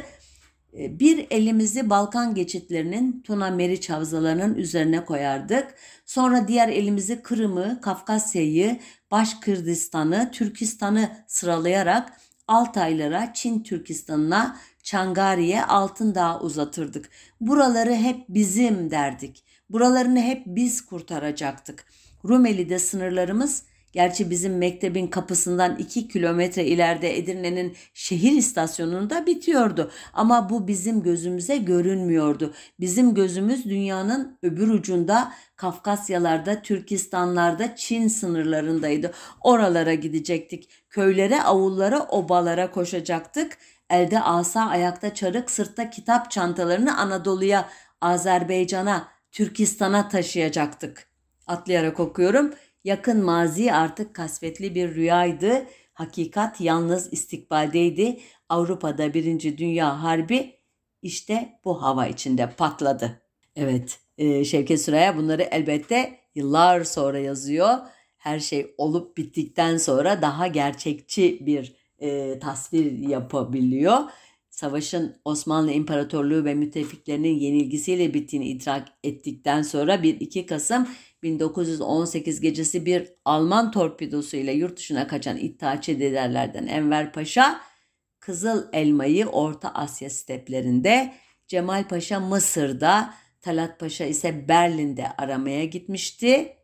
Bir elimizi Balkan geçitlerinin Tuna Meriç havzalarının üzerine koyardık. Sonra diğer elimizi Kırım'ı, Kafkasya'yı, Başkırdistan'ı, Türkistan'ı sıralayarak Altaylara, Çin Türkistan'ına, Çangari'ye, Altındağ'a uzatırdık. Buraları hep bizim derdik. Buralarını hep biz kurtaracaktık. Rumeli'de sınırlarımız, gerçi bizim mektebin kapısından iki kilometre ileride Edirne'nin şehir istasyonunda bitiyordu. Ama bu bizim gözümüze görünmüyordu. Bizim gözümüz dünyanın öbür ucunda, Kafkasyalarda, Türkistanlarda, Çin sınırlarındaydı. Oralara gidecektik. Köylere, avullara, obalara koşacaktık. Elde asa, ayakta çarık, sırtta kitap çantalarını Anadolu'ya, Azerbaycan'a, Türkistan'a taşıyacaktık. Atlayarak okuyorum. Yakın mazi artık kasvetli bir rüyaydı. Hakikat yalnız istikbaldeydi. Avrupa'da Birinci Dünya Harbi işte bu hava içinde patladı. Evet, e, Şevket Süreyya bunları elbette yıllar sonra yazıyor. Her şey olup bittikten sonra daha gerçekçi bir e, tasvir yapabiliyor. Savaşın Osmanlı İmparatorluğu ve müttefiklerinin yenilgisiyle bittiğini idrak ettikten sonra bir iki Kasım bin dokuz yüz on sekiz gecesi bir Alman torpidosuyla yurt dışına kaçan İttihatçı liderlerden Enver Paşa, Kızıl Elma'yı Orta Asya steplerinde, Cemal Paşa Mısır'da, Talat Paşa ise Berlin'de aramaya gitmişti.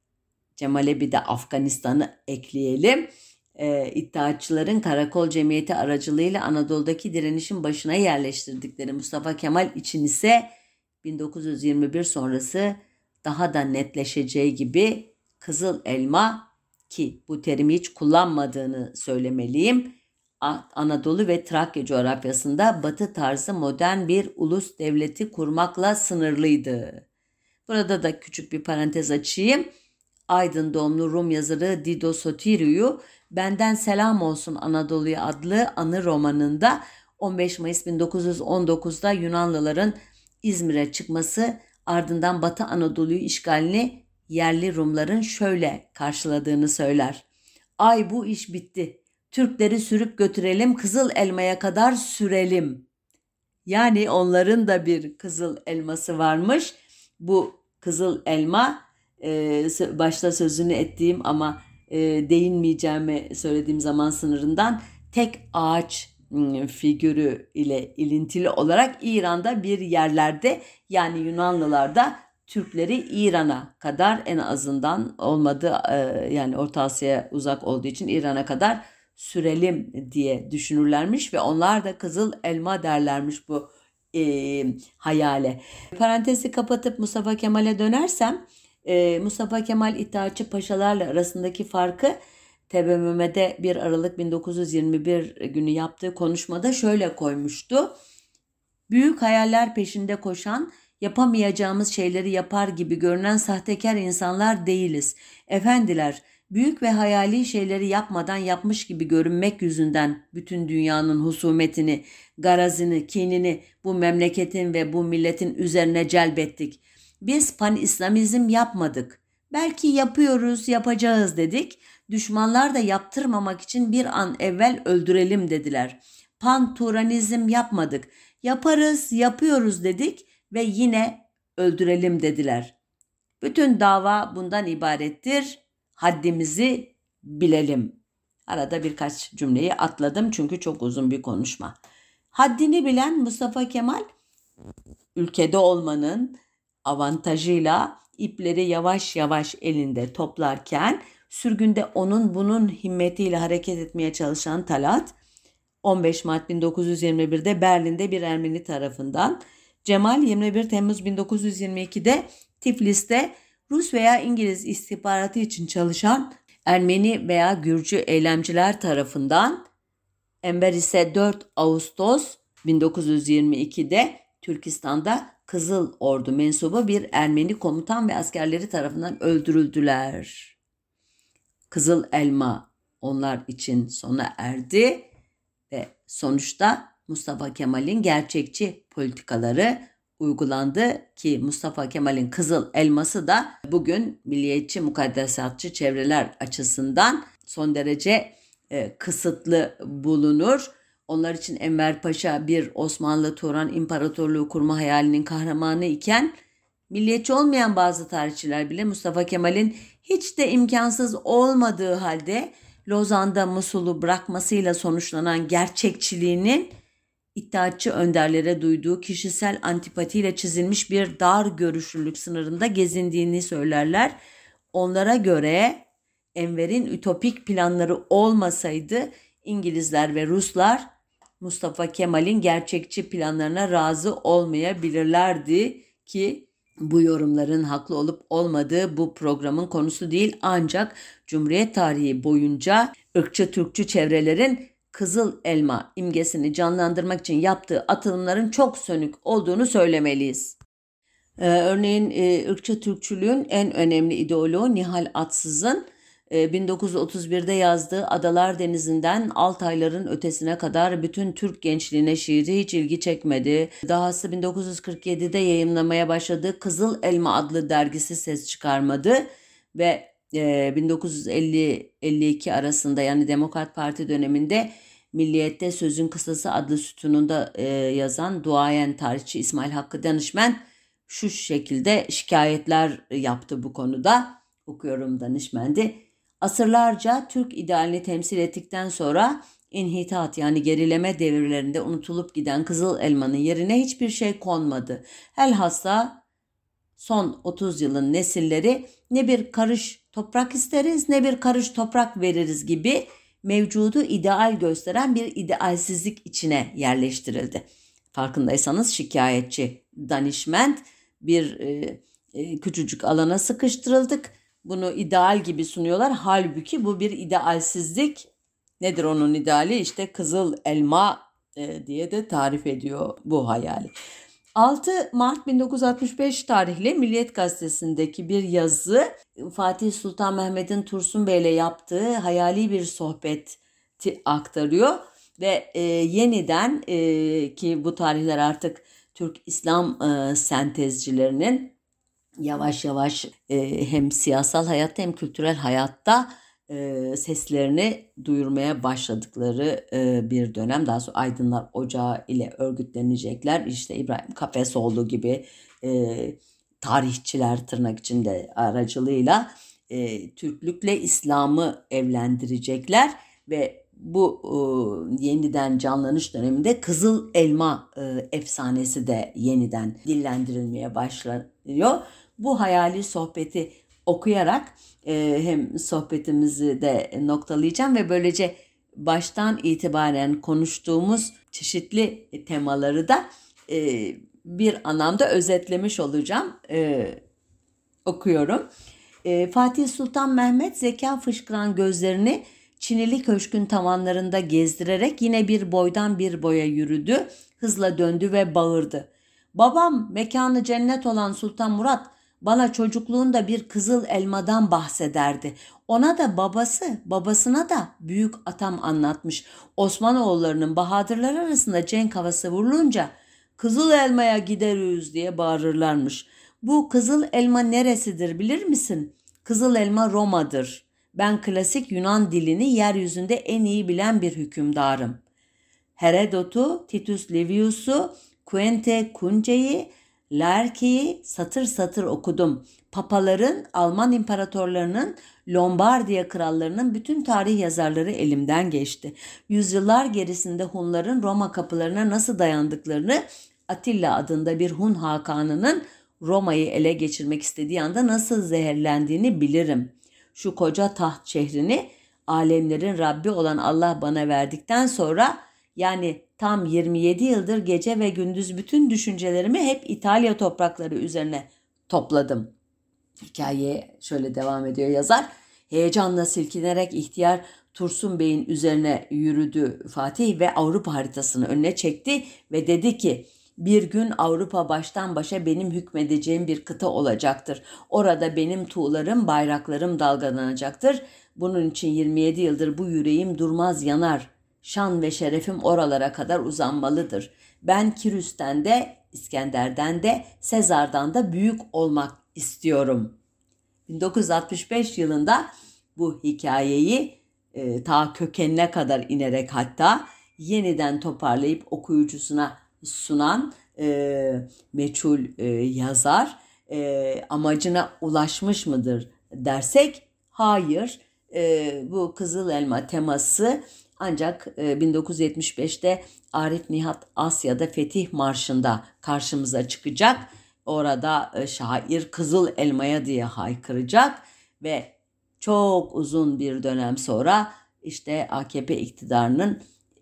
Cemal'e bir de Afganistan'ı ekleyelim. E, İttihatçıların Karakol Cemiyeti aracılığıyla Anadolu'daki direnişin başına yerleştirdikleri Mustafa Kemal için ise bin dokuz yüz yirmi bir sonrası daha da netleşeceği gibi Kızıl Elma, ki bu terimi hiç kullanmadığını söylemeliyim, Anadolu ve Trakya coğrafyasında Batı tarzı modern bir ulus devleti kurmakla sınırlıydı. Burada da küçük bir parantez açayım. Aydın doğumlu Rum yazarı Dido Sotiriou, Benden Selam Olsun Anadolu'ya adlı anı romanında on beş Mayıs bin dokuz yüz on dokuzda Yunanlıların İzmir'e çıkması, ardından Batı Anadolu'yu işgalini yerli Rumların şöyle karşıladığını söyler. Ay bu iş bitti. Türkleri sürüp götürelim, Kızıl Elma'ya kadar sürelim. Yani onların da bir kızıl elması varmış. Bu kızıl elma, e, başta sözünü ettiğim ama e, değinmeyeceğimi söylediğim zaman sınırından tek ağaç figürü ile ilintili olarak İran'da bir yerlerde, yani Yunanlılar da Türkleri İran'a kadar, en azından olmadı yani Orta Asya'ya uzak olduğu için İran'a kadar sürelim diye düşünürlermiş ve onlar da kızıl elma derlermiş bu e, hayale. Parantezi kapatıp Mustafa Kemal'e dönersem, e, Mustafa Kemal İttihatçı paşalarla arasındaki farkı T B M M'de bir Aralık bin dokuz yüz yirmi bir günü yaptığı konuşmada şöyle koymuştu. Büyük hayaller peşinde koşan, yapamayacağımız şeyleri yapar gibi görünen sahtekar insanlar değiliz. Efendiler, Büyük ve hayali şeyleri yapmadan yapmış gibi görünmek yüzünden bütün dünyanın husumetini, garazını, kinini bu memleketin ve bu milletin üzerine celbettik. Biz pan-İslamizm yapmadık. Belki yapıyoruz, yapacağız dedik. Düşmanlar da yaptırmamak için bir an evvel öldürelim dediler. Pan-Turanizm yapmadık. Yaparız, yapıyoruz dedik ve yine öldürelim dediler. Bütün dava bundan ibarettir. Haddimizi bilelim. Arada birkaç cümleyi atladım çünkü çok uzun bir konuşma. Haddini bilen Mustafa Kemal, ülkede olmanın avantajıyla ipleri yavaş yavaş elinde toplarken, sürgünde onun bunun himmetiyle hareket etmeye çalışan Talat, on beş Mart bin dokuz yüz yirmi bir'de Berlin'de bir Ermeni tarafından, Cemal yirmi bir Temmuz bin dokuz yüz yirmi iki'de Tiflis'te Rus veya İngiliz istihbaratı için çalışan Ermeni veya Gürcü eylemciler tarafından, Enver ise dört Ağustos bin dokuz yüz yirmi iki'de Türkistan'da Kızıl Ordu mensubu bir Ermeni komutan ve askerleri tarafından öldürüldüler. Kızıl Elma onlar için sona erdi ve sonuçta Mustafa Kemal'in gerçekçi politikaları uygulandı ki Mustafa Kemal'in Kızıl Elması da bugün milliyetçi mukaddesatçı çevreler açısından son derece e, kısıtlı bulunur. Onlar için Enver Paşa bir Osmanlı Turan İmparatorluğu kurma hayalinin kahramanı iken, milliyetçi olmayan bazı tarihçiler bile Mustafa Kemal'in hiç de imkansız olmadığı halde Lozan'da Musul'u bırakmasıyla sonuçlanan gerçekçiliğinin İttihatçı önderlere duyduğu kişisel antipatiyle çizilmiş bir dar görüşlülük sınırında gezindiğini söylerler. Onlara göre Enver'in ütopik planları olmasaydı İngilizler ve Ruslar Mustafa Kemal'in gerçekçi planlarına razı olmayabilirlerdi ki bu yorumların haklı olup olmadığı bu programın konusu değil, ancak Cumhuriyet tarihi boyunca ırkçı Türkçü çevrelerin Kızıl Elma imgesini canlandırmak için yaptığı atılımların çok sönük olduğunu söylemeliyiz. Ee, örneğin e, ırkçı Türkçülüğün en önemli ideoloğu Nihal Atsız'ın e, bin dokuz yüz otuz bir'de yazdığı Adalar Denizi'nden Altayların ötesine kadar bütün Türk gençliğine şiiri hiç ilgi çekmedi. Dahası bin dokuz yüz kırk yedi'de yayımlamaya başladığı Kızıl Elma adlı dergisi ses çıkarmadı ve bin dokuz yüz elli elli iki arasında, yani Demokrat Parti döneminde Milliyet'te Sözün Kısası adlı sütununda e, yazan duayen tarihçi İsmail Hakkı Danışmen şu şekilde şikayetler yaptı bu konuda. Okuyorum Danışmen'di. Asırlarca Türk idealini temsil ettikten sonra inhitat, yani gerileme devirlerinde unutulup giden Kızıl Elma'nın yerine hiçbir şey konmadı. Helhassa son otuz yılın nesilleri ne bir karış toprak isteriz ne bir karış toprak veririz gibi mevcudu ideal gösteren bir idealsizlik içine yerleştirildi. Farkındaysanız şikayetçi Danişment bir e, e, küçücük alana sıkıştırıldık. Bunu ideal gibi sunuyorlar. Halbuki bu bir idealsizlik. Nedir onun ideali? İşte Kızıl Elma e, diye de tarif ediyor bu hayali. altı Mart bin dokuz yüz altmış beş tarihli Milliyet Gazetesi'ndeki bir yazı Fatih Sultan Mehmet'in Tursun Bey'le yaptığı hayali bir sohbeti aktarıyor ve e, yeniden e, ki bu tarihler artık Türk İslam e, sentezcilerinin yavaş yavaş e, hem siyasal hayatta hem kültürel hayatta e, seslerini duyurmaya başladıkları e, bir dönem. Daha sonra Aydınlar Ocağı ile örgütlenecekler. İşte İbrahim Kafesoğlu gibi e, tarihçiler tırnak içinde aracılığıyla e, Türklükle İslam'ı evlendirecekler ve bu e, yeniden canlanış döneminde Kızıl Elma e, efsanesi de yeniden dillendirilmeye başlanıyor. Bu hayali sohbeti okuyarak e, hem sohbetimizi de noktalayacağım ve böylece baştan itibaren konuştuğumuz çeşitli temaları da e, bir anlamda özetlemiş olacağım. E, okuyorum. E, Fatih Sultan Mehmet zeka fışkıran gözlerini Çinili Köşk'ün tavanlarında gezdirerek yine bir boydan bir boya yürüdü, hızla döndü ve bağırdı. Babam, mekanı cennet olan Sultan Murat, Bana çocukluğunda bir kızıl elmadan bahsederdi. Ona da babası, babasına da büyük atam anlatmış. Osmanoğullarının bahadırlar arasında cenk havası vurulunca kızıl elmaya gideriz diye bağırırlarmış. Bu kızıl elma neresidir bilir misin? Kızıl elma Roma'dır. Ben klasik Yunan dilini yeryüzünde en iyi bilen bir hükümdarım. Herodot'u, Titus Livius'u, Quente Cunce'yi, Laerke'yi satır satır okudum. Papaların, Alman imparatorlarının, Lombardiya krallarının bütün tarih yazarları elimden geçti. Yüzyıllar gerisinde Hunların Roma kapılarına nasıl dayandıklarını, Atilla adında bir Hun hakanının Roma'yı ele geçirmek istediği anda nasıl zehirlendiğini bilirim. Şu koca taht şehrini alemlerin Rabbi olan Allah bana verdikten sonra, yani tam yirmi yedi yıldır gece ve gündüz bütün düşüncelerimi hep İtalya toprakları üzerine topladım. Hikayeye şöyle devam ediyor yazar. Heyecanla silkinerek ihtiyar Tursun Bey'in üzerine yürüdü Fatih ve Avrupa haritasını önüne çekti ve dedi ki, bir gün Avrupa baştan başa benim hükmedeceğim bir kıta olacaktır. Orada benim tuğlarım, bayraklarım dalgalanacaktır. Bunun için yirmi yedi yıldır bu yüreğim durmaz yanar. Şan ve şerefim oralara kadar uzanmalıdır. Ben Kirüs'ten de, İskender'den de, Sezar'dan da büyük olmak istiyorum. bin dokuz yüz altmış beş yılında bu hikayeyi e, ta kökenine kadar inerek hatta yeniden toparlayıp okuyucusuna sunan e, meçhul e, yazar e, amacına ulaşmış mıdır dersek hayır. E, bu Kızıl Elma teması ancak e, bin dokuz yüz yetmiş beşte Arif Nihat Asya'da Fetih Marşı'nda karşımıza çıkacak. Orada e, şair Kızıl Elma'ya diye haykıracak ve çok uzun bir dönem sonra işte A K P iktidarının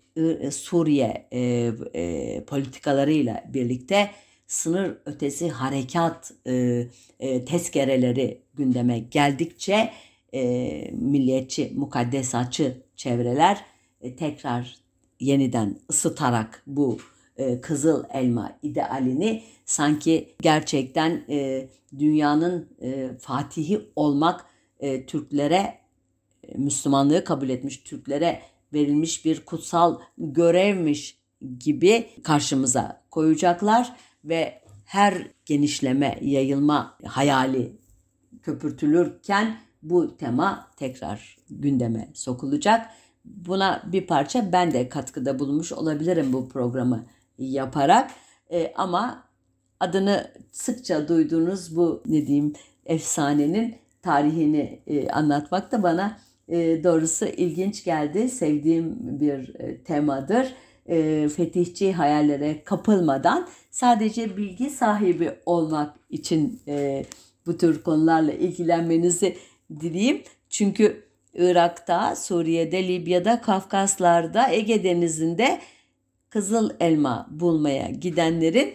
Suriye e, e, politikalarıyla birlikte sınır ötesi harekat e, e, tezkereleri gündeme geldikçe e, milliyetçi, mukaddesatçı çevreler e, tekrar yeniden ısıtarak bu e, Kızıl Elma idealini sanki gerçekten e, dünyanın e, fatihi olmak e, Türklere, e, Müslümanlığı kabul etmiş Türklere verilmiş bir kutsal görevmiş gibi karşımıza koyacaklar ve her genişleme, yayılma hayali köpürtülürken bu tema tekrar gündeme sokulacak. Buna bir parça ben de katkıda bulunmuş olabilirim bu programı yaparak. E, ama adını sıkça duyduğunuz bu ne diyeyim efsanenin tarihini e, anlatmak da bana e, doğrusu ilginç geldi. Sevdiğim bir e, temadır. E, fetihçi hayallere kapılmadan sadece bilgi sahibi olmak için e, bu tür konularla ilgilenmenizi dileyim. Çünkü Irak'ta, Suriye'de, Libya'da, Kafkaslar'da, Ege Denizi'nde Kızıl Elma bulmaya gidenlerin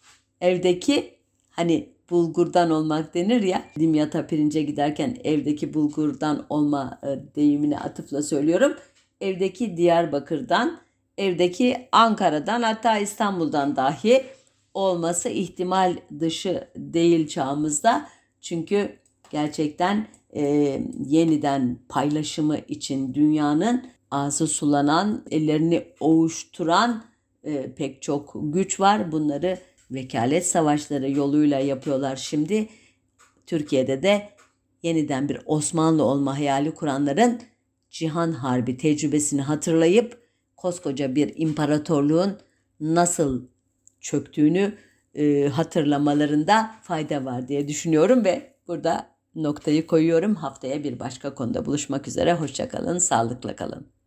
evdeki hani bulgurdan olmak denir ya, Dimyat'a pirince giderken evdeki bulgurdan olma e, deyimine atıfla söylüyorum. Evdeki Diyarbakır'dan, evdeki Ankara'dan hatta İstanbul'dan dahi olması ihtimal dışı değil çağımızda. Çünkü gerçekten e, yeniden paylaşımı için dünyanın ağzı sulanan, ellerini ovuşturan e, pek çok güç var. Bunları vekalet savaşları yoluyla yapıyorlar şimdi. Türkiye'de de yeniden bir Osmanlı olma hayali kuranların Cihan Harbi tecrübesini hatırlayıp koskoca bir imparatorluğun nasıl çöktüğünü e, hatırlamalarında fayda var diye düşünüyorum ve burada noktayı koyuyorum. Haftaya bir başka konuda buluşmak üzere. Hoşça kalın, sağlıkla kalın.